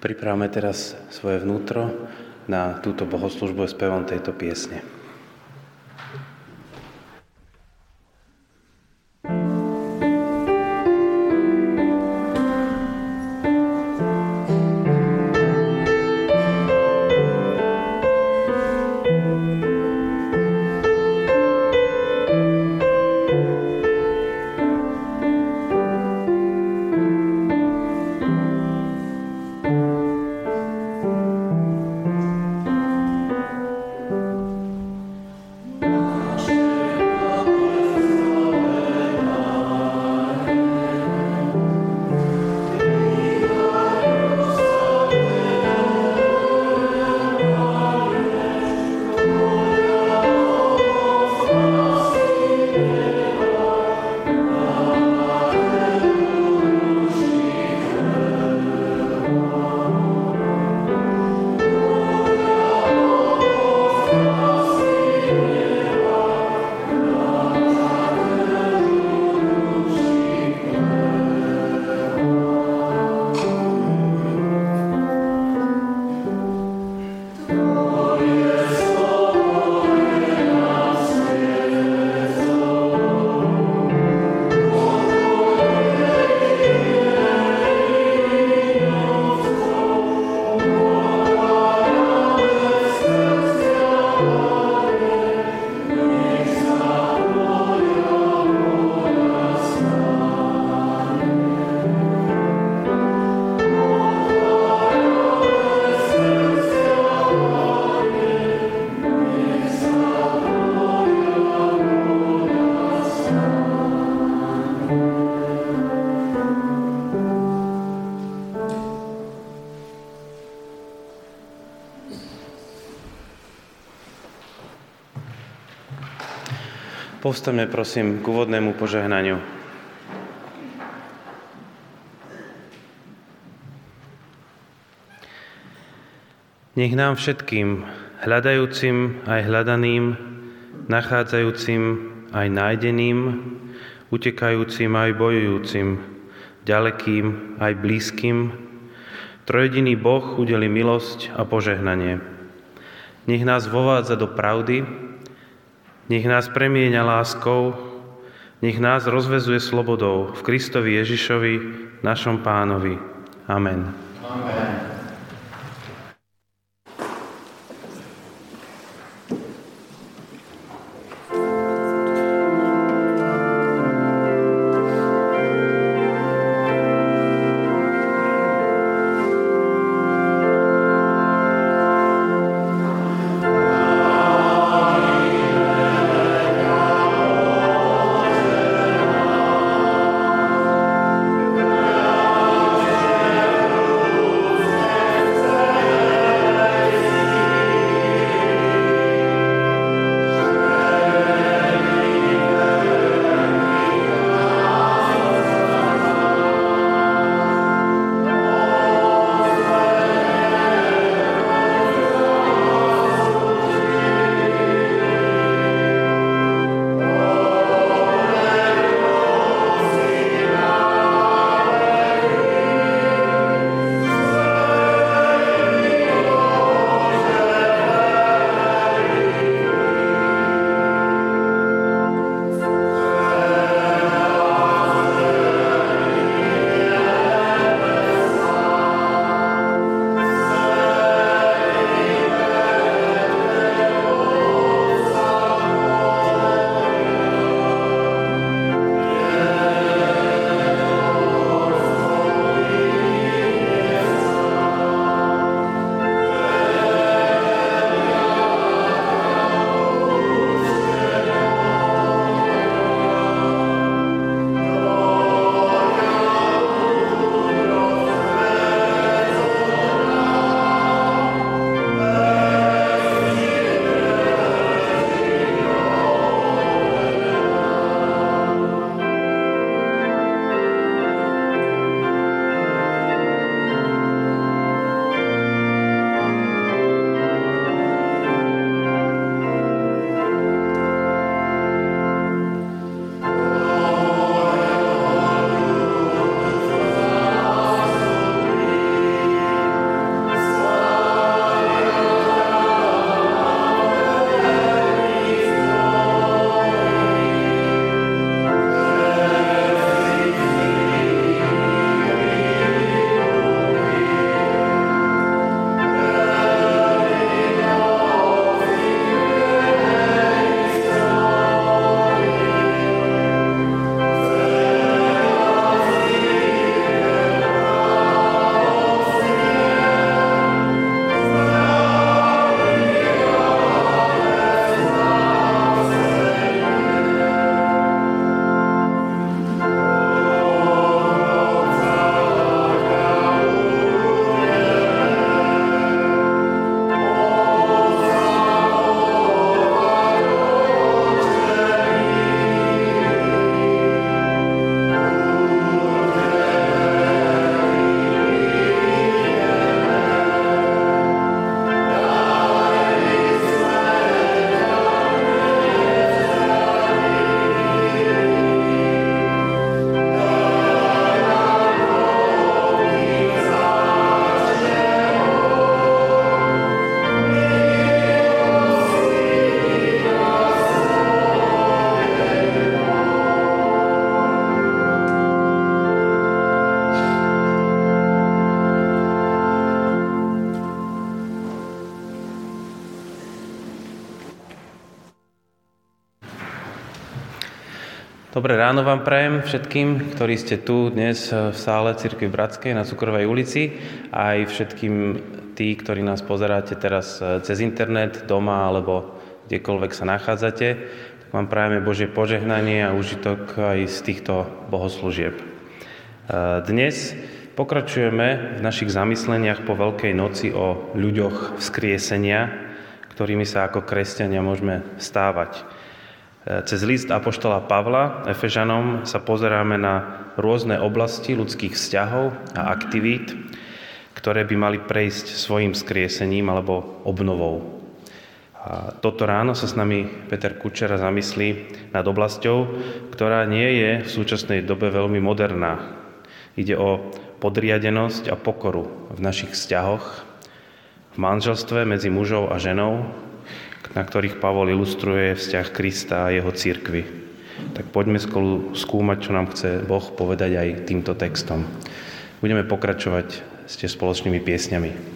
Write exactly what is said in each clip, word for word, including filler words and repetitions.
Pripravme teraz svoje vnútro na túto bohoslužbu spevom tejto piesne. Povstaňme prosím k úvodnému požehnaniu. Nech nám všetkým, hľadajúcim aj hľadaným, nachádzajúcim aj nájdeným, utekajúcim aj bojujúcim, ďalekým aj blízkym, trojjediný Boh udeli milosť a požehnanie. Nech nás vovádza do pravdy, nech nás premieňa láskou, nech nás rozvezuje slobodou v Kristovi Ježišovi, našom Pánovi. Amen. Amen. Amen. Dobré ráno vám prajem všetkým, ktorí ste tu dnes v sále Cirkvi Bratskej na Cukrovej ulici, aj všetkým tí, ktorí nás pozeráte teraz cez internet, doma alebo kdekoľvek sa nachádzate. Tak vám prajeme Božie požehnanie a užitok aj z týchto bohoslúžieb. Dnes pokračujeme v našich zamysleniach po Veľkej noci o ľuďoch vzkriesenia, ktorými sa ako kresťania môžeme stávať. Cez list apoštola Pavla Efežanom sa pozeráme na rôzne oblasti ľudských vzťahov a aktivít, ktoré by mali prejsť svojim skriesením alebo obnovou. A toto ráno sa s nami Peter Kučera zamyslí nad oblasťou, ktorá nie je v súčasnej dobe veľmi moderná. Ide o podriadenosť a pokoru v našich vzťahoch, v manželstve medzi mužou a ženou, na ktorých Pavol ilustruje vzťah Krista a jeho cirkvi. Tak poďme spolu skúmať, čo nám chce Boh povedať aj týmto textom. Budeme pokračovať s tie spoločnými piesňami.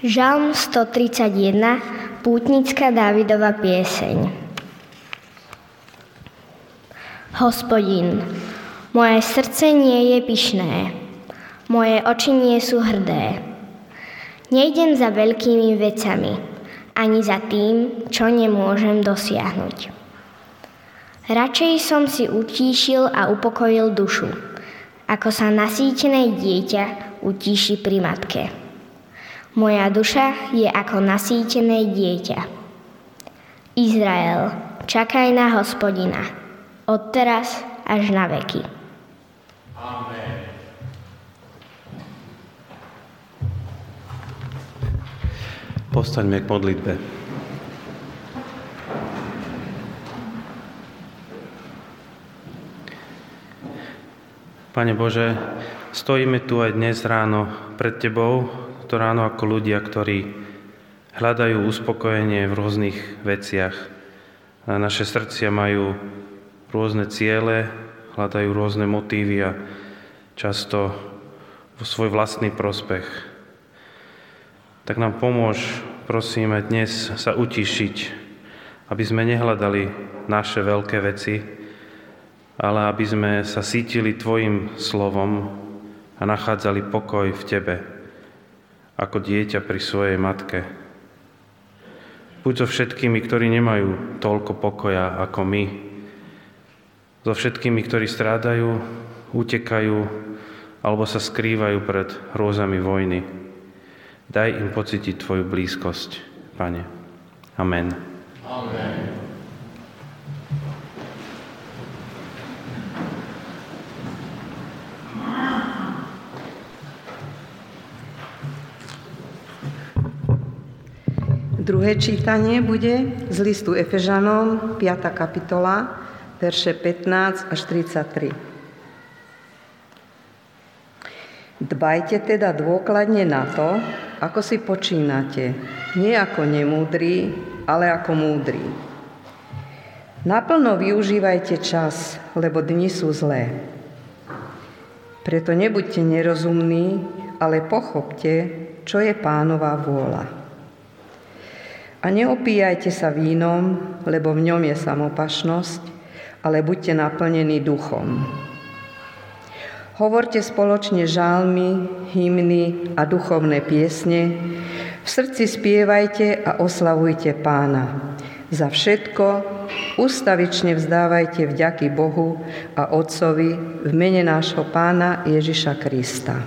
Žalm stotridsaťjeden, pútnická Dávidova pieseň. Hospodin, moje srdce nie je pyšné, moje oči nie sú hrdé. Nejdem za veľkými vecami, ani za tým, čo nemôžem dosiahnuť. Radšej som si utíšil a upokojil dušu, ako sa nasýtené dieťa utíši pri matke. Moja duša je ako nasýtené dieťa. Izrael, čakaj na Hospodina, od teraz až na veky. Amen. Povstaňme k modlitbe. Pane Bože, stojíme tu aj dnes ráno pred Tebou, to ráno ako ľudia, ktorí hľadajú uspokojenie v rôznych veciach. A naše srdcia majú rôzne ciele, hľadajú rôzne motívy a často vo svoj vlastný prospech. Tak nám pomôž, prosíme, dnes sa utišiť, aby sme nehľadali naše veľké veci, ale aby sme sa cítili Tvojim slovom a nachádzali pokoj v Tebe, ako dieťa pri svojej matke. Buď so všetkými, ktorí nemajú toľko pokoja ako my, so všetkými, ktorí strádajú, utekajú alebo sa skrývajú pred hrôzami vojny. Daj im pocítiť Tvoju blízkosť, Pane. Amen. Amen. Druhé čítanie bude z listu Efežanom, piata kapitola, verše pätnásť až tridsaťtri. Dbajte teda dôkladne na to, ako si počínate, nie ako nemúdri, ale ako múdri. Naplno využívajte čas, lebo dni sú zlé. Preto nebuďte nerozumní, ale pochopte, čo je Pánova vôľa. A neopíjajte sa vínom, lebo v ňom je samopašnosť, ale buďte naplnení duchom. Hovorte spoločne žalmy, hymny a duchovné piesne. V srdci spievajte a oslavujte Pána. Za všetko ustavične vzdávajte vďaky Bohu a Otcovi v mene nášho Pána Ježiša Krista.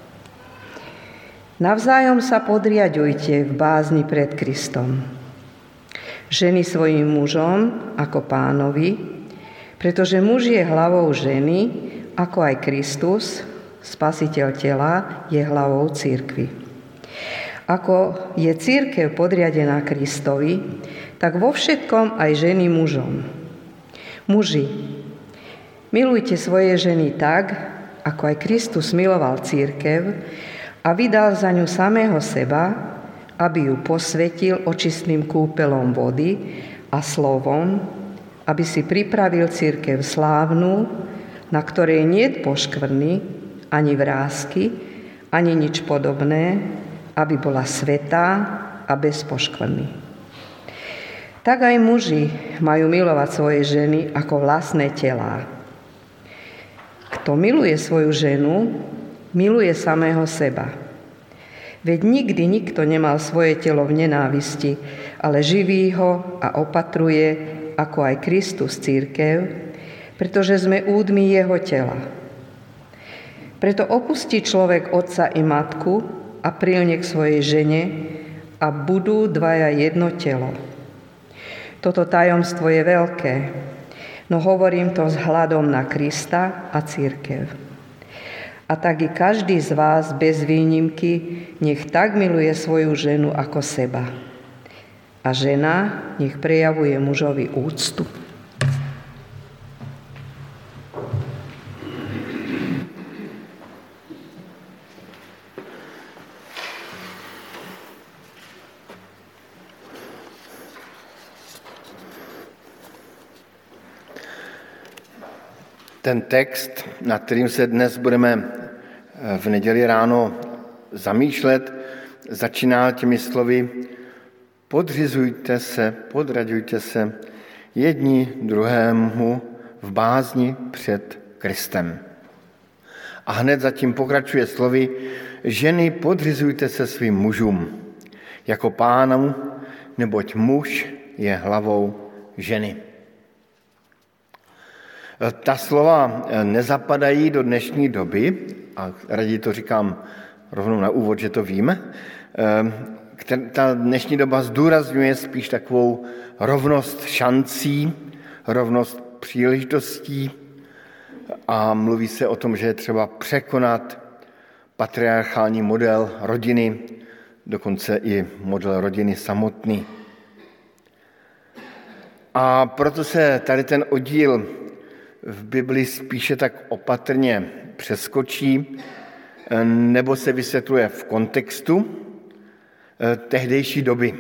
Navzájom sa podriaďujte v bázni pred Kristom. Ženy svojim mužom ako Pánovi, pretože muž je hlavou ženy, ako aj Kristus, Spasiteľ tela, je hlavou cirkvi. Ako je cirkev podriadená Kristovi, tak vo všetkom aj ženy mužom. Muži, milujte svoje ženy tak, ako aj Kristus miloval cirkev, a vydal za ňu samého seba, aby ju posvetil očistným kúpelom vody a slovom, aby si pripravil cirkev slávnu, na ktorej niet poškvrny, ani vrásky, ani nič podobné, aby bola svätá a bez poškvrny. Tak aj muži majú milovať svoje ženy ako vlastné telá. Kto miluje svoju ženu, miluje samého seba. Veď nikdy nikto nemal svoje telo v nenávisti, ale živí ho a opatruje, ako aj Kristus cirkev, pretože sme údmi jeho tela. Preto opustí človek otca i matku a prilne k svojej žene a budú dvaja jedno telo. Toto tajomstvo je veľké, no hovorím to vzhľadom na Krista a cirkev. A tak i každý z vás bez výnimky nech tak miluje svoju ženu ako seba. A žena nech prejavuje mužovi úctu. Ten text, nad kterým se dnes budeme v neděli ráno zamýšlet, začíná těmi slovy podřizujte se, podraďujte se jedni druhému v bázni před Kristem. A hned zatím pokračuje slovy ženy, podřizujte se svým mužům jako pánu, neboť muž je hlavou ženy. Ta slova nezapadají do dnešní doby, a raději to říkám rovnou na úvod, že to vím. Ta dnešní doba zdůrazňuje spíš takovou rovnost šancí, rovnost příležitostí a mluví se o tom, že je třeba překonat patriarchální model rodiny, dokonce i model rodiny samotný. A proto se tady ten oddíl v Bibli spíše tak opatrně přeskočí nebo se vysvětluje v kontextu tehdejší doby.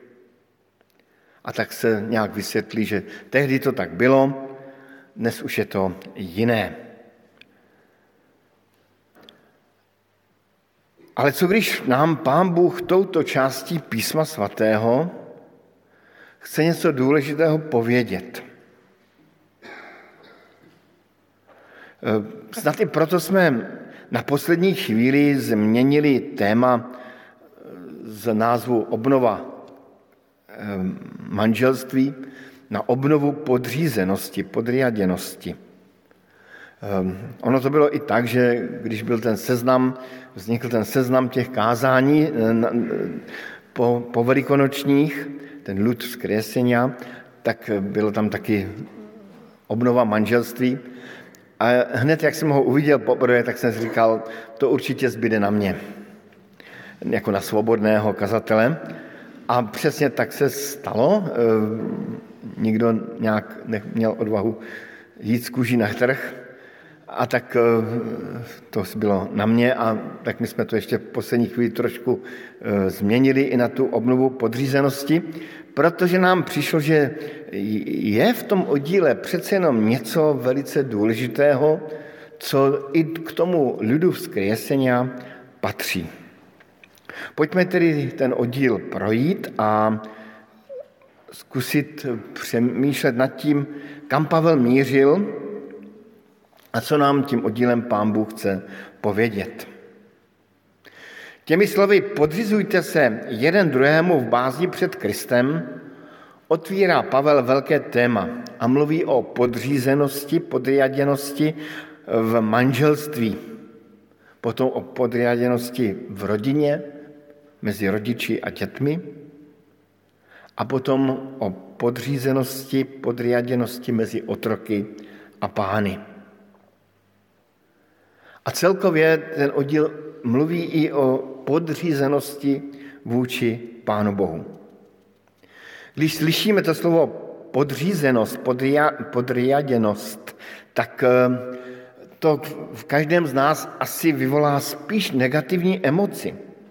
A tak se nějak vysvětlí, že tehdy to tak bylo, dnes už je to jiné. Ale co když nám Pán Bůh touto částí Písma svatého chce něco důležitého povědět? Snad i proto jsme na poslední chvíli změnili téma z názvu obnova manželství na obnovu podřízenosti, podriaděnosti. Ono to bylo i tak, že když byl ten seznam, vznikl ten seznam těch kázání po, po velikonočních, ten lud vzkriesenia, tak bylo tam taky obnova manželství. A hned, jak jsem ho uviděl poprvé, tak jsem si říkal, to určitě zbyde na mě, jako na svobodného kazatele. A přesně tak se stalo. Nikdo nějak neměl odvahu jít z kůží na trh. A tak to bylo na mě a tak my jsme to ještě v poslední chvíli trošku změnili i na tu obnovu podřízenosti, protože nám přišlo, že je v tom oddíle přece jenom něco velice důležitého, co i k tomu lidu vzkriesenia patří. Pojďme tedy ten oddíl projít a zkusit přemýšlet nad tím, kam Pavel mířil a co nám tím oddílem Pán Bůh chce povědět. Těmi slovy podřizujte se jeden druhému v bázni před Kristem otvírá Pavel velké téma a mluví o podřízenosti, podriaděnosti v manželství, potom o podriaděnosti v rodině, mezi rodiči a dětmi a potom o podřízenosti, podriaděnosti mezi otroky a pány. A celkově ten oddíl mluví i o podřízenosti vůči Pánu Bohu. Když slyšíme to slovo podřízenost, podria, podriaděnost, tak to v každém z nás asi vyvolá spíš negativní emoci.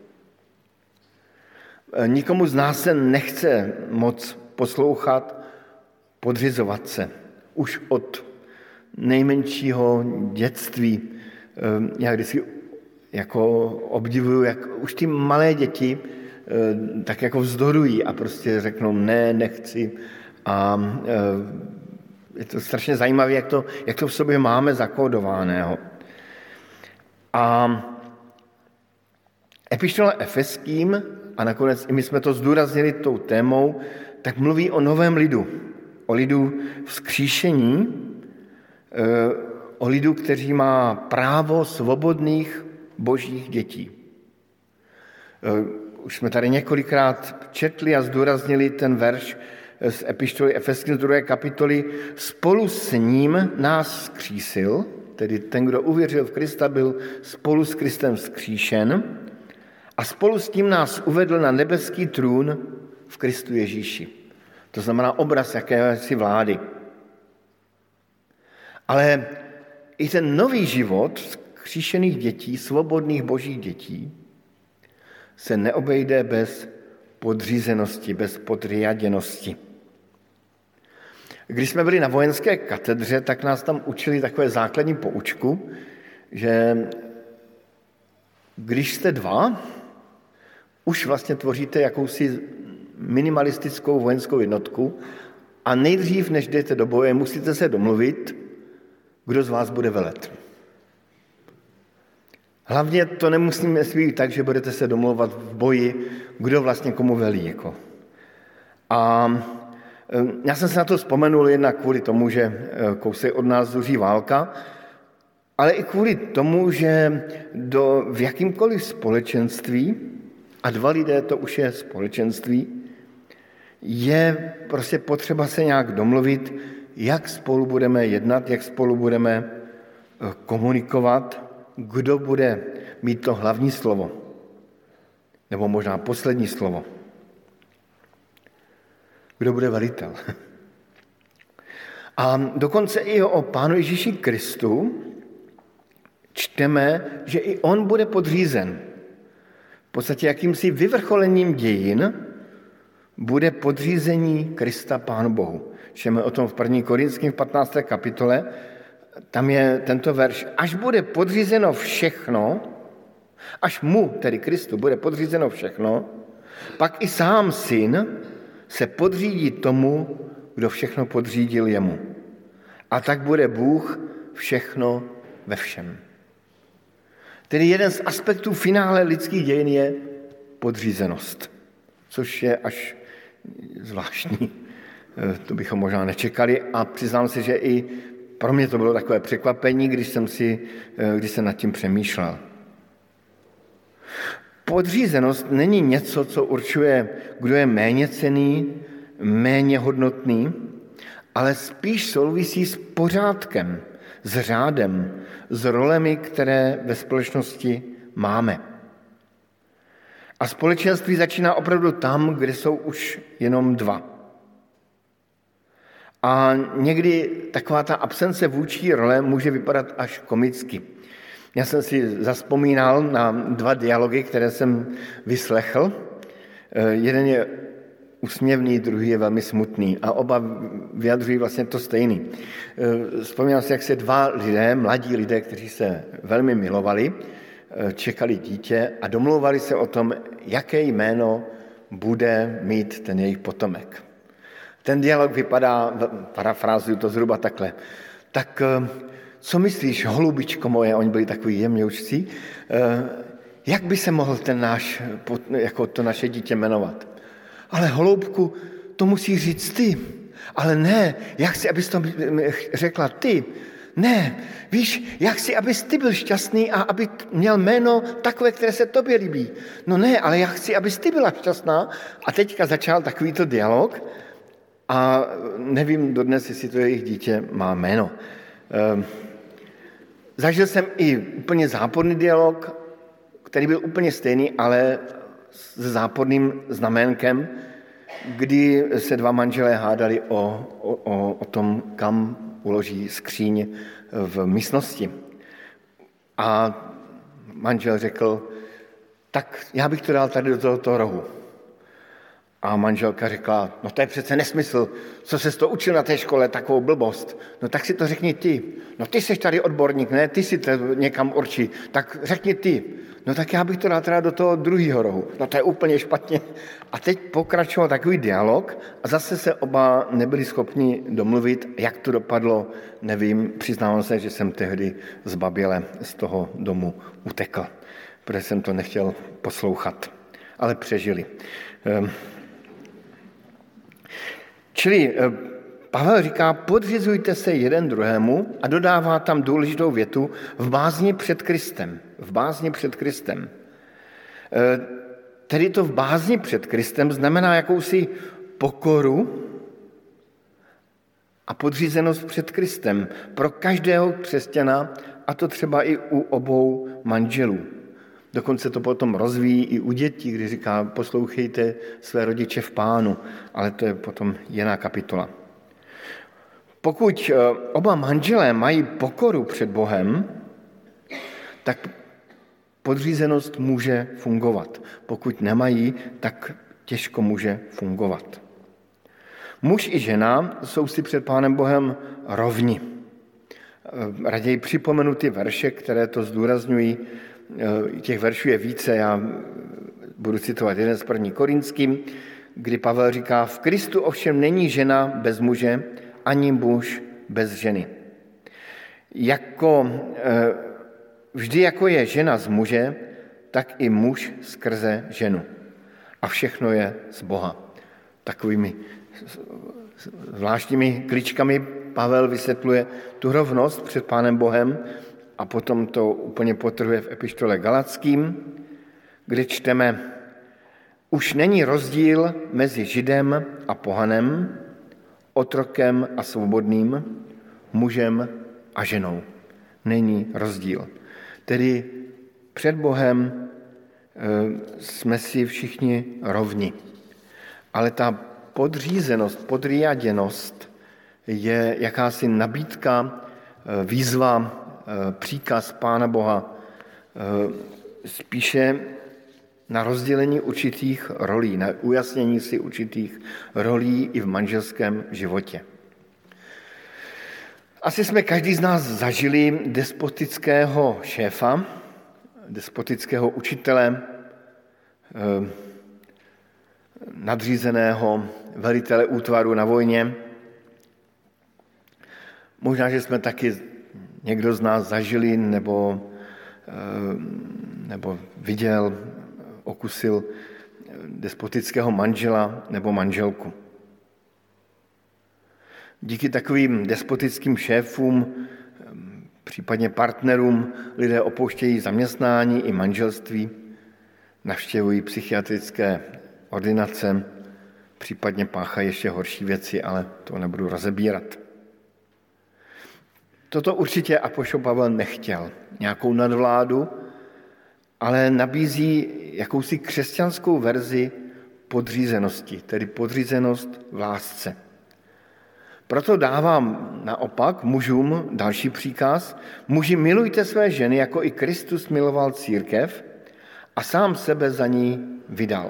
Nikomu z nás se nechce moc poslouchat, podřizovat se. Už od nejmenšího dětství. Já vždycky jako obdivuju, jak už ty malé děti tak jako vzdorují a prostě řeknou ne, nechci. A je to strašně zajímavé, jak to, jak to v sobě máme zakódovaného. A epištola Efeským, a nakonec i my jsme to zdůraznili tou témou, tak mluví o novém lidu. O lidu vzkříšení, o lidu, který má právo svobodných božích dětí. Už jsme tady několikrát četli a zdůraznili ten verš z epištoly Efeským z druhé kapitoly. Spolu s ním nás vzkřísil, tedy ten, kdo uvěřil v Krista, byl spolu s Kristem vzkříšen a spolu s tím nás uvedl na nebeský trůn v Kristu Ježíši. To znamená obraz jakési vlády. Ale i ten nový život vzkříšených dětí, svobodných božích dětí, se neobejde bez podřízenosti, bez podriaděnosti. Když jsme byli na vojenské katedře, tak nás tam učili takové základní poučku, že když jste dva, už vlastně tvoříte jakousi minimalistickou vojenskou jednotku a nejdřív, než jdete do boje, musíte se domluvit, kdo z vás bude velet. Hlavně to nemusíme být tak, že budete se domlouvat v boji, kdo vlastně komu velí. Jako. A já jsem se na to vzpomenul jednak kvůli tomu, že kousek od nás zuří válka, ale i kvůli tomu, že do, v jakýmkoliv společenství, a dva lidé to už je společenství, je prostě potřeba se nějak domluvit, jak spolu budeme jednat, jak spolu budeme komunikovat, kdo bude mít to hlavní slovo, nebo možná poslední slovo. Kdo bude velitel. A dokonce i o Pánu Ježíši Kristu čteme, že i on bude podřízen. V podstatě jakýmsi vyvrcholením dějin bude podřízení Krista Pánu Bohu. Čteme o tom v první Korinským v patnácté kapitole, tam je tento verš, až bude podřízeno všechno, až mu, tedy Kristu, bude podřízeno všechno, pak i sám syn se podřídí tomu, kdo všechno podřídil jemu. A tak bude Bůh všechno ve všem. Tedy jeden z aspektů finále lidských dějin je podřízenost, což je až zvláštní. To bychom možná nečekali a přiznám se, že i pro mě to bylo takové překvapení, když jsem, si, když jsem nad tím přemýšlel. Podřízenost není něco, co určuje, kdo je méně cenný, méně hodnotný, ale spíš souvisí s pořádkem, s řádem, s rolemi, které ve společnosti máme. A společenství začíná opravdu tam, kde jsou už jenom dva. A někdy taková ta absence vůči role může vypadat až komicky. Já jsem si zazpomínal na dva dialogy, které jsem vyslechl. Jeden je úsměvný, druhý je velmi smutný a oba vyjadřují vlastně to stejný. Vzpomínám si, jak se dva lidé, mladí lidé, kteří se velmi milovali, čekali dítě a domlouvali se o tom, jaké jméno bude mít ten jejich potomek. Ten dialog vypadá, parafrázuju to zhruba takhle, tak co myslíš, holubičko moje, oni byli takový jemňoučcí, jak by se mohl ten náš, jako to naše dítě jmenovat? Ale holoubku, to musí říct ty. Ale ne, já chci, abys to řekla ty. Ne, víš, já chci, abys ty byl šťastný a aby měl jméno takové, které se tobě líbí. No ne, ale já chci, abys ty byla šťastná. A teďka začal takovýto dialog a nevím dodnes, jestli to jejich dítě má jméno. Ehm, zažil jsem i úplně záporný dialog, který byl úplně stejný, ale s záporným znaménkem, kdy se dva manželé hádali o, o, o tom, kam uloží skříň v místnosti. A manžel řekl, tak já bych to dal tady do tohoto rohu. A manželka řekla, no to je přece nesmysl, co ses to učil na té škole, takovou blbost. No tak si to řekni ty. No ty jsi tady odborník, ne? Ty si to někam určí. Tak řekni ty. No tak já bych to dal teda do toho druhého rohu. No to je úplně špatně. A teď pokračoval takový dialog a zase se oba nebyli schopni domluvit, jak to dopadlo, nevím. Přiznávám se, že jsem tehdy zbaběle z toho domu utekl, protože jsem to nechtěl poslouchat. Ale přežili. Čili Pavel říká, podřizujte se jeden druhému a dodává tam důležitou větu v bázni před Kristem. V bázni před Kristem. Tedy to v bázni před Kristem znamená jakousi pokoru a podřízenost před Kristem pro každého křesťana, a to třeba i u obou manželů. Dokonce to potom rozvíjí i u dětí, kdy říká, poslouchejte své rodiče v Pánu, ale to je potom jiná kapitola. Pokud oba manželé mají pokoru před Bohem, tak podřízenost může fungovat. Pokud nemají, tak těžko může fungovat. Muž i žena jsou si před Pánem Bohem rovni. Raději připomenu ty verše, které to zdůrazňují. Těch veršů je více, já Budu citovat jeden z první Korinským, kdy Pavel říká, v Kristu ovšem není žena bez muže, ani muž bez ženy. Jako, vždy jako je žena z muže, tak i muž skrze ženu. A všechno je z Boha. Takovými zvláštními kličkami Pavel vysvětluje tu rovnost před Pánem Bohem a potom to úplně potrhuje v epištole Galackým, kde čteme, už není rozdíl mezi Židem a pohanem, otrokem a svobodným, mužem a ženou. Není rozdíl. Tedy před Bohem jsme si všichni rovni. Ale ta podřízenost, podriaděnost je jakási nabídka, výzva, příkaz Pána Boha, spíše na rozdělení určitých rolí, na ujasnění si určitých rolí i v manželském životě. Asi jsme každý z nás zažili despotického šéfa, despotického učitele, nadřízeného velitele útvaru na vojně. Možná, že jsme taky někdo z nás zažili nebo, nebo viděl, okusil despotického manžela nebo manželku. Díky takovým despotickým šéfům, případně partnerům, lidé opouštějí zaměstnání i manželství, navštěvují psychiatrické ordinace, případně páchají ještě horší věci, ale to nebudu rozebírat. Toto určitě apoštol Pavel nechtěl, nějakou nadvládu, ale nabízí jakousi křesťanskou verzi podřízenosti, tedy podřízenost v lásce. Proto dávám naopak mužům další příkaz. Muži, milujte své ženy, jako i Kristus miloval církev a sám sebe za ní vydal.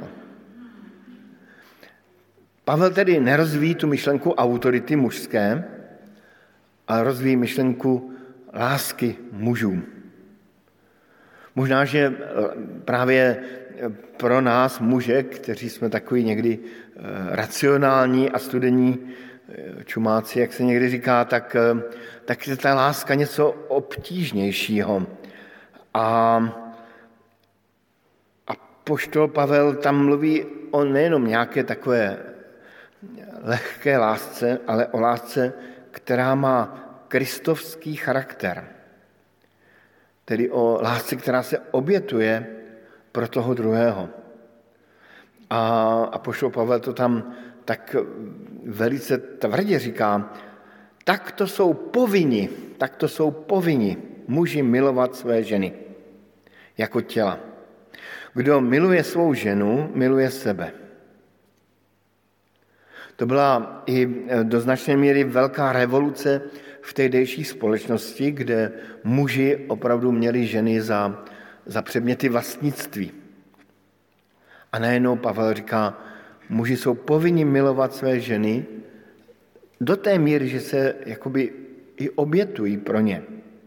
Pavel tedy nerozvíjí tu myšlenku autority mužské, ale rozvíjí myšlenku lásky mužům. Možná, že právě pro nás muže, kteří jsme takový někdy racionální a studení čumáci, jak se někdy říká, tak, tak je ta láska něco obtížnějšího. A apoštol Pavel tam mluví o nejenom nějaké takové lehké lásce, ale o lásce, která má kristovský charakter. Tedy o lásce, která se obětuje pro toho druhého. A apoštol Pavel to tam tak velice tvrdě říká, tak to jsou povinni, tak to jsou povinni muži milovat své ženy jako těla. Kdo miluje svou ženu, miluje sebe. To byla i do značné míry velká revoluce v tehdejší společnosti, kde muži opravdu měli ženy za, za předměty vlastnictví. A najednou Pavel říká, muži jsou povinni milovat své ženy do té míry, že se jakoby i obětují pro ně.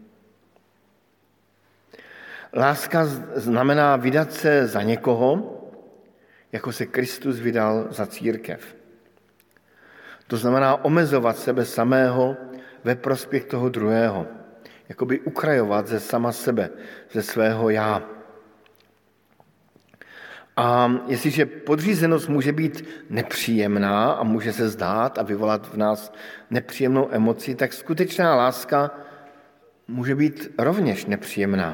Láska znamená vydat se za někoho, jako se Kristus vydal za církev. To znamená omezovat sebe samého ve prospěch toho druhého. Jakoby ukrajovat ze sama sebe, ze svého já. A jestliže podřízenost může být nepříjemná a může se zdát a vyvolat v nás nepříjemnou emoci, tak skutečná láska může být rovněž nepříjemná.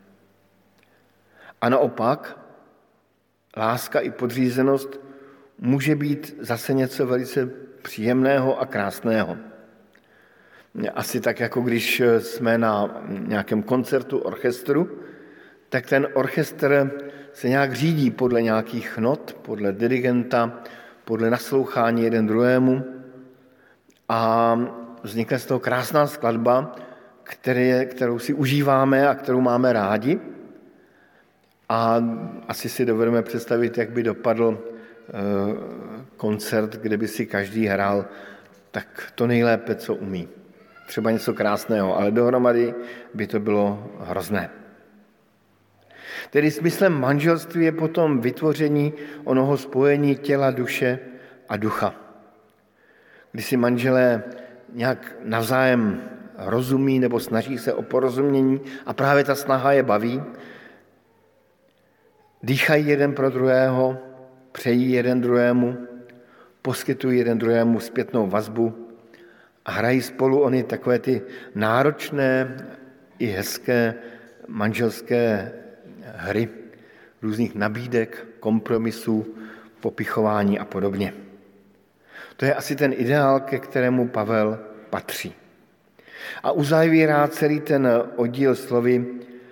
A naopak, láska i podřízenost může být zase něco velice příjemného a krásného. Asi tak, jako když jsme na nějakém koncertu orchestru, tak ten orchestr se nějak řídí podle nějakých not, podle dirigenta, podle naslouchání jeden druhému a vznikne z toho krásná skladba, které, kterou si užíváme a kterou máme rádi. A asi si dovedeme představit, jak by dopadl koncert, kde by si každý hrál tak to nejlépe, co umí. Třeba něco krásného, ale dohromady by to bylo hrozné. Tedy smyslem manželství je potom vytvoření onoho spojení těla, duše a ducha. Kdy si manželé nějak navzájem rozumí nebo snaží se o porozumění a právě ta snaha je baví, dýchají jeden pro druhého, přejí jeden druhému, poskytují jeden druhému zpětnou vazbu a hrají spolu ony takové ty náročné i hezké manželské hry, různých nabídek, kompromisů, popichování a podobně. To je asi ten ideál, ke kterému Pavel patří. A uzavírá celý ten oddíl slovy: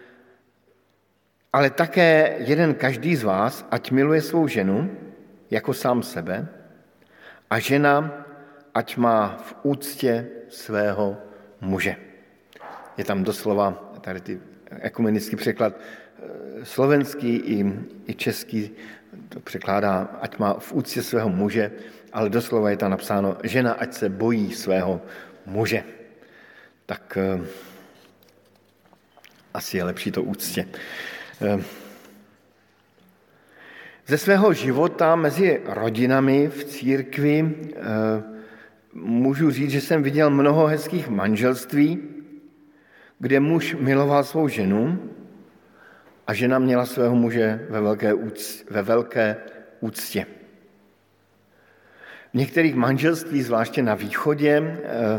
ale také jeden každý z vás, ať miluje svou ženu jako sám sebe, a žena, ať má v úctě svého muže. Je tam doslova tady ty ekumenický překlad slovenský i, i český, to překládá, ať má v úctě svého muže, ale doslova je tam napsáno, žena, ať se bojí svého muže. Tak eh, asi je lepší to úctě. Eh, ze svého života mezi rodinami v církvi eh, můžu říct, že jsem viděl mnoho hezkých manželství, kde muž miloval svou ženu a žena měla svého muže ve velké, úctě, ve velké úctě. V některých manželství, zvláště na východě,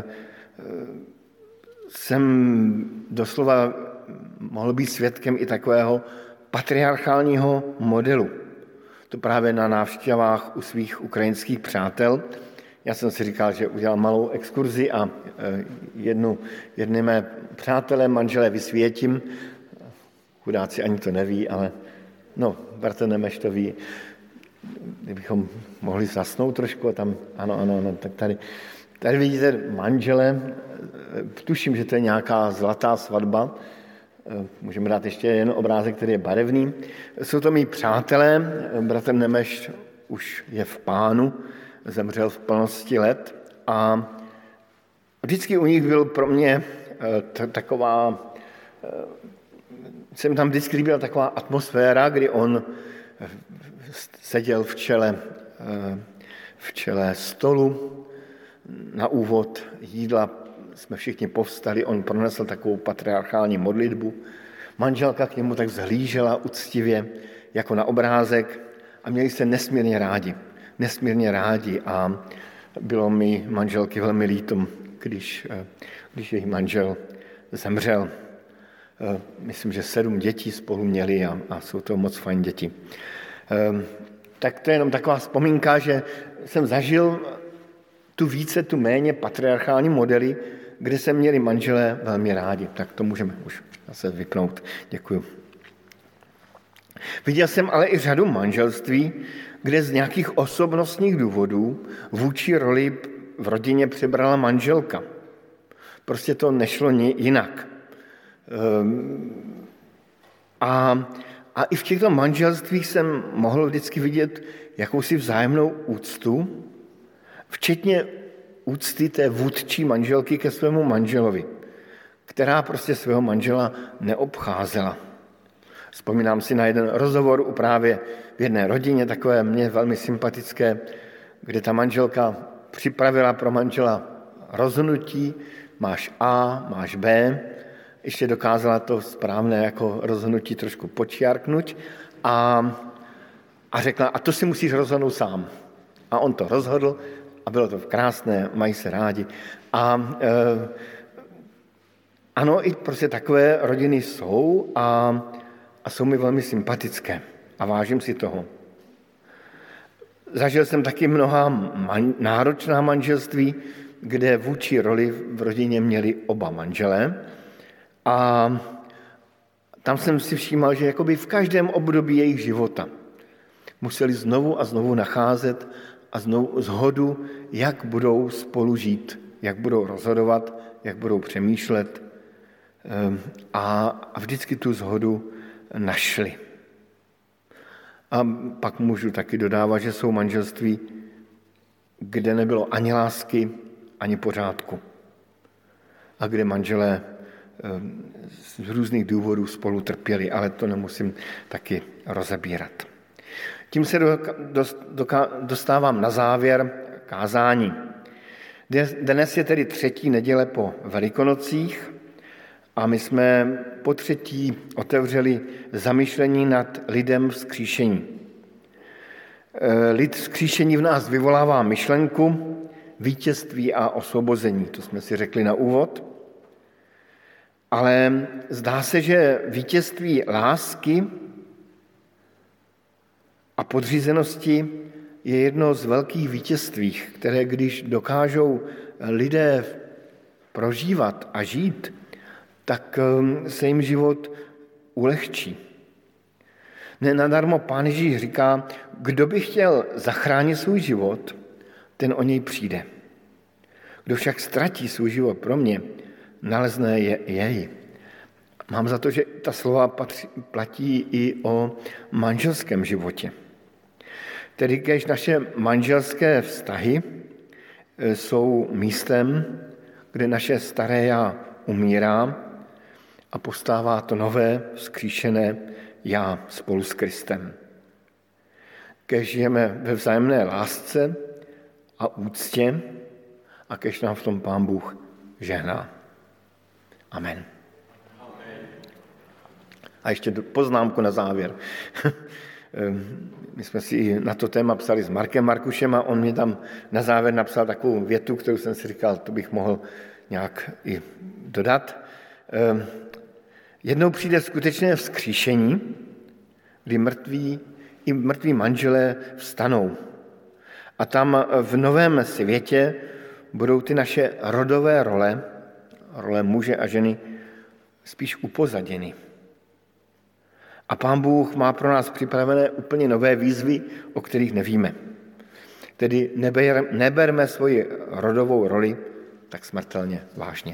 jsem doslova mohl být svědkem i takového patriarchálního modelu. To právě na návštěvách u svých ukrajinských přátel. Já jsem si říkal, že udělal malou exkurzi a jednu, jedny mé přátelé, manželé vysvětím. Chudáci ani to neví, ale no, bratr Nemeš to ví. Kdybychom mohli zasnout trošku a tam, ano, ano, ano, tak tady, tady vidíte manžele, tuším, že to je nějaká zlatá svatba, můžeme dát ještě jen obrázek, který je barevný. Jsou to mý přátelé, bratr Nemeš už je v Pánu, zemřel v plnosti let a vždycky u nich byl pro mě taková, jsem tam vždycky líbila taková atmosféra, kdy on seděl v čele, v čele stolu, na úvod jídla jsme všichni povstali, on pronesl takovou patriarchální modlitbu, manželka k němu tak zhlížela uctivě jako na obrázek a měli se nesmírně rádi, nesmírně rádi a bylo mi manželky velmi líto, když, když její manžel zemřel. Myslím, že sedm dětí spolu měli a, a jsou to moc fajn děti. Tak to je jenom taková vzpomínka, že jsem zažil tu více, tu méně patriarchální modely, kde se měli manželé velmi rádi. Tak to můžeme už zase vypnout. Děkuju. Viděl jsem ale i řadu manželství, kde z nějakých osobnostních důvodů vůči roli v rodině přebrala manželka. Prostě to nešlo jinak. A, a i v těchto manželstvích jsem mohl vždycky vidět jakousi vzájemnou úctu, včetně úcty té vůdčí manželky ke svému manželovi, která prostě svého manžela neobcházela. Vzpomínám si na jeden rozhovor u právě v jedné rodině, takové mně velmi sympatické, kde ta manželka připravila pro manžela rozhodnutí, máš A, máš B, ještě dokázala to správné jako rozhodnutí trošku počiarknout a, a řekla, a to si musíš rozhodnout sám. A on to rozhodl a bylo to krásné, mají se rádi. A e, ano, i prostě takové rodiny jsou a, a jsou mi velmi sympatické a vážím si toho. Zažil jsem taky mnoha man, náročná manželství, kde vůči roli v rodině měli oba manželé. A tam jsem si všímal, že jakoby v každém období jejich života museli znovu a znovu nacházet a znovu zhodu, jak budou spolu žít, jak budou rozhodovat, jak budou přemýšlet. A, a vždycky tu zhodu našli. A pak můžu taky dodávat, že jsou manželství, kde nebylo ani lásky, ani pořádku. A kde manželé z různých důvodů spolu trpěli, ale to nemusím taky rozebírat. Tím se dostávám na závěr kázání. Dnes je tedy třetí neděle po Velikonocích a my jsme po třetí otevřeli zamyšlení nad lidem vzkříšení. Lid vzkříšení v nás vyvolává myšlenku vítězství a osvobození, to jsme si řekli na úvod. Ale zdá se, že vítězství lásky a podřízenosti je jedno z velkých vítězství, které když dokážou lidé prožívat a žít, tak se jim život ulehčí. Nenadarmo Pán Ježíš říká, kdo by chtěl zachránit svůj život, ten o něj přijde. Kdo však ztratí svůj život pro mě, nalezne je, jej. Mám za to, že ta slova patří, platí i o manželském životě. Tedy když naše manželské vztahy jsou místem, kde naše staré já umírá a postává to nové, vzkříšené já spolu s Kristem. Když žijeme ve vzájemné lásce a úctě a když nám v tom Pán Bůh žehná. Amen. A ještě poznámku na závěr. My jsme si na to téma psali s Markem Markušem a on mě tam na závěr napsal takovou větu, kterou jsem si říkal, to bych mohl nějak i dodat. Jednou přijde skutečné vzkříšení, kdy mrtví, i mrtví manželé vstanou. A tam v novém světě budou ty naše rodové role, role muže a ženy, spíš upozaděny. A Pán Bůh má pro nás připravené úplně nové výzvy, o kterých nevíme. Tedy neber, neberme svoji rodovou roli tak smrtelně vážně.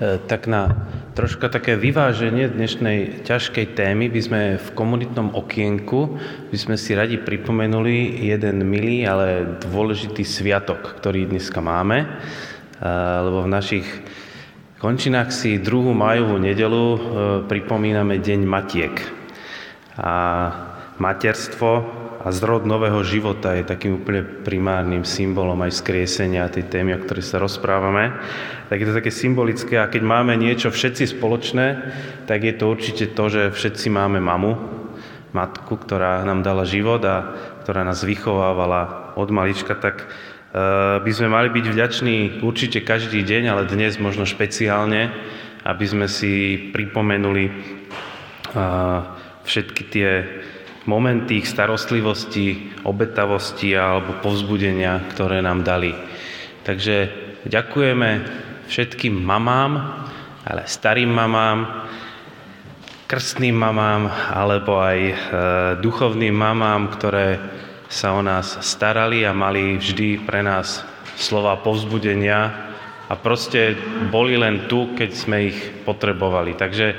Tak na troška také vyváženie dnešnej ťažkej témy by sme v komunitnom okienku by sme si radi pripomenuli jeden milý, ale dôležitý sviatok, ktorý dneska máme, lebo v našich končinách si druhú májovú nedeľu pripomíname Deň Matiek. A materstvo a zrod nového života je takým úplne primárnym symbolom aj skriesenia tej témy, o ktorej sa rozprávame. Tak je to také symbolické a keď máme niečo všetci spoločné, tak je to určite to, že všetci máme mamu, matku, ktorá nám dala život a ktorá nás vychovávala od malička, tak uh, by sme mali byť vďační určite každý deň, ale dnes možno špeciálne, aby sme si pripomenuli uh, všetky tie momenty ich starostlivosti, obetavosti alebo povzbudenia, ktoré nám dali. Takže ďakujeme všetkým mamám, ale starým mamám, krstným mamám alebo aj e, duchovným mamám, ktoré sa o nás starali a mali vždy pre nás slova povzbudenia a proste boli len tu, keď sme ich potrebovali. Takže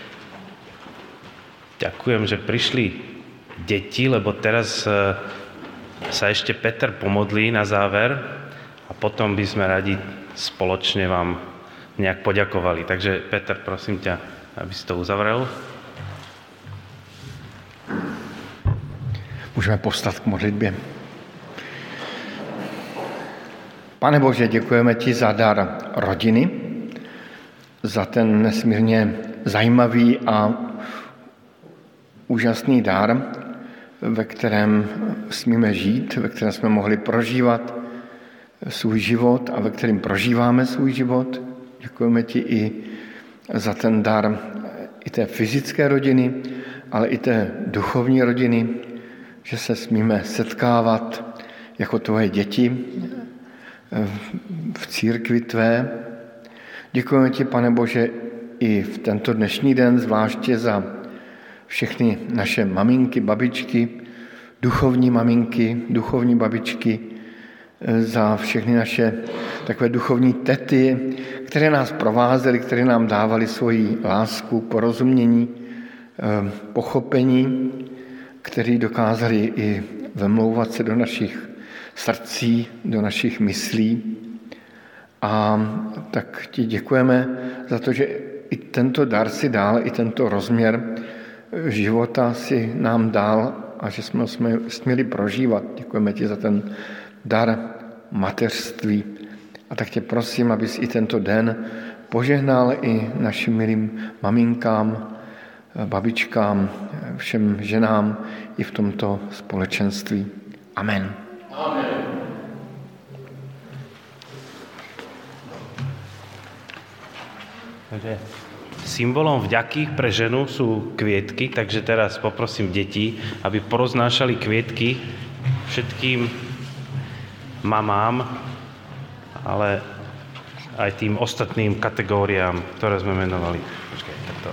ďakujem, že prišli deti, lebo teraz sa ešte Peter pomodlí na záver a potom by sme radi spoločne vám nejak poďakovali. Takže Peter, prosím ťa, aby si to uzavrel. Můžeme povstat k modlitbě. Pane Bože, děkujeme ti za dar rodiny, za ten nesmírně zajímavý a úžasný dar, ve kterém smíme žít, ve kterém jsme mohli prožívat svůj život a ve kterém prožíváme svůj život. Děkujeme ti i za ten dar i té fyzické rodiny, ale i té duchovní rodiny, že se smíme setkávat jako tvoje děti v církvi tvé. Děkujeme ti, Pane Bože, i v tento dnešní den, zvláště za všechny naše maminky, babičky, duchovní maminky, duchovní babičky, za všechny naše takové duchovní tety, které nás provázely, které nám dávaly svoji lásku, porozumění, pochopení, které dokázali i vemlouvat se do našich srdcí, do našich myslí. A tak ti děkujeme za to, že i tento dar si dal, i tento rozměr života si nám dal a že jsme ho směli prožívat. Děkujeme ti za ten dar mateřství. A tak tě prosím, abys i tento den požehnal i našim milým maminkám, babičkám, všem ženám i v tomto společenství. Amen. Amen. Takže symbolom vďaky pre ženu sú kvietky, takže teraz poprosím deti, aby poroznášali kvietky všetkým mamám, ale aj tým ostatným kategóriám, ktoré sme menovali. Počkaj, takto.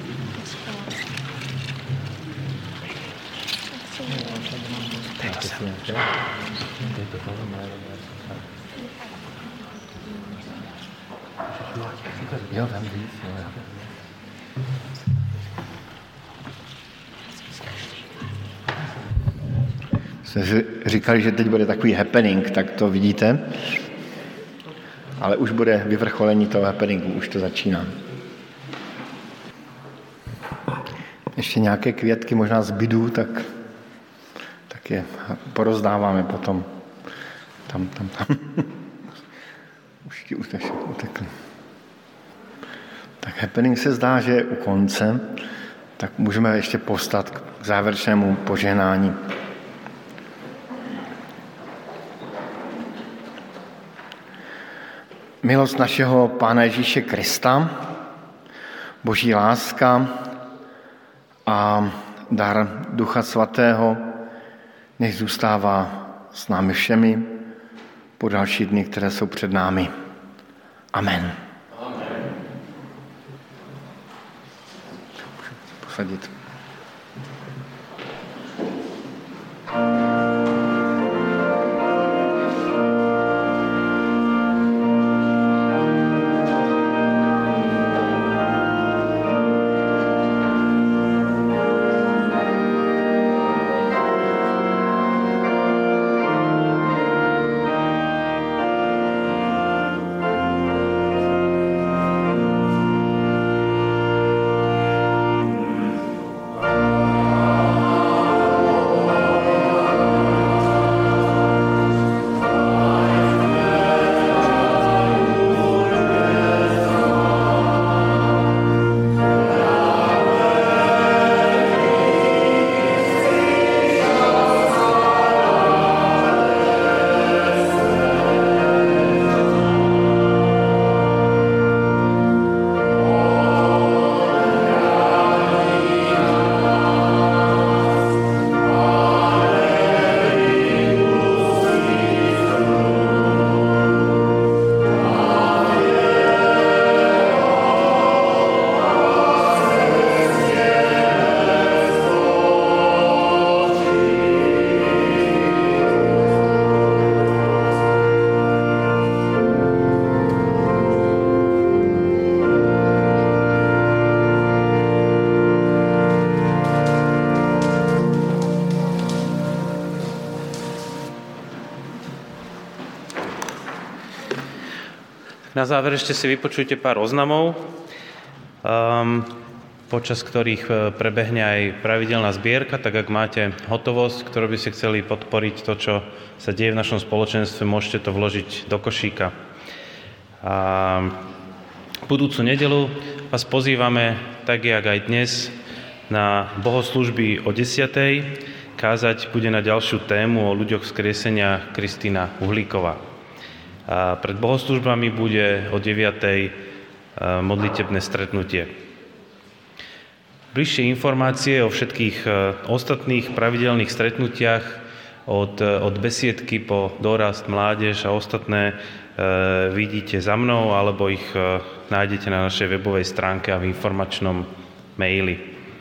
Jo, tam víc, jo. Jsme říkali, že teď bude takový happening, tak to vidíte. Ale už bude vyvrcholení toho happeningu, už to začíná. Ještě nějaké květky možná zbydou, tak, tak je porozdáváme potom. Tam, tam, tam. Už ti utekli. Tak happening se zdá, že je u konce, tak můžeme ještě povstat k závěrečnému požehnání. Milost našeho Pána Ježíše Krista, Boží láska a dar Ducha Svatého nech zůstává s námi všemi po další dny, které jsou před námi. Amen. Amen. Posadit. Na záver ešte si vypočujte pár oznamov, um, počas ktorých prebehne aj pravidelná zbierka, tak ak máte hotovosť, ktorú by ste chceli podporiť to, čo sa deje v našom spoločenstve, môžete to vložiť do košíka. A budúcu nedeľu vás pozývame, tak jak aj dnes, na bohoslúžby o desiatej. Kázať bude na ďalšiu tému o ľuďoch vzkriesenia Kristína Uhlíková. A pred bohoslúžbami bude o deviatej modlitebné stretnutie. Bližšie informácie o všetkých ostatných pravidelných stretnutiach od, od besiedky po dorast, mládež a ostatné e, vidíte za mnou, alebo ich e, nájdete na našej webovej stránke a v informačnom maili. E,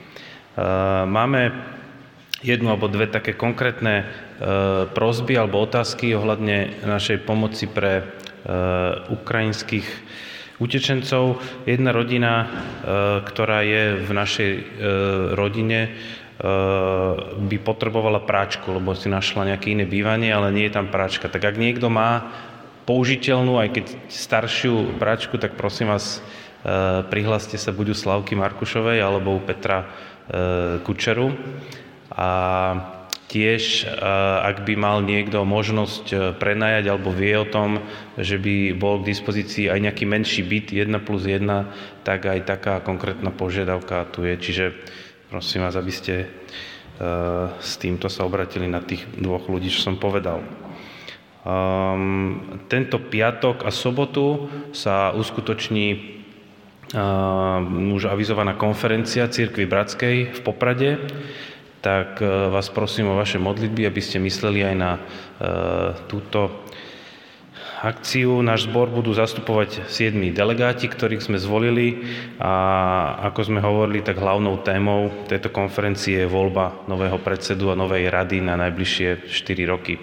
máme jednu alebo dve také konkrétne e, prosby alebo otázky ohľadne našej pomoci pre e, ukrajinských utečencov. Jedna rodina, e, ktorá je v našej e, rodine, e, by potrebovala práčku, lebo si našla nejaké iné bývanie, ale nie je tam práčka. Tak ak niekto má použiteľnú, aj keď staršiu práčku, tak prosím vás, e, prihláste sa buď u Slavky Markušovej alebo u Petra e, Kučeru. A tiež, ak by mal niekto možnosť prenajať alebo vie o tom, že by bol k dispozícii aj nejaký menší byt jeden plus jeden, tak aj taká konkrétna požiadavka tu je. Čiže prosím vás, aby ste s týmto sa obratili na tých dvoch ľudí, čo som povedal. Um, tento piatok a sobotu sa uskutoční uh, už avizovaná konferencia Cirkvi Bratskej v Poprade. Tak vás prosím o vaše modlitby, aby ste mysleli aj na e, túto akciu. Náš zbor budú zastupovať siedmi delegáti, ktorých sme zvolili, a ako sme hovorili, tak hlavnou témou tejto konferencie je voľba nového predsedu a novej rady na najbližšie štyri roky. E,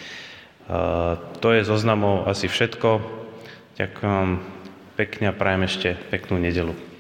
to je zo oznamov asi všetko. Ďakujem pekne a prajem ešte peknú nedeľu.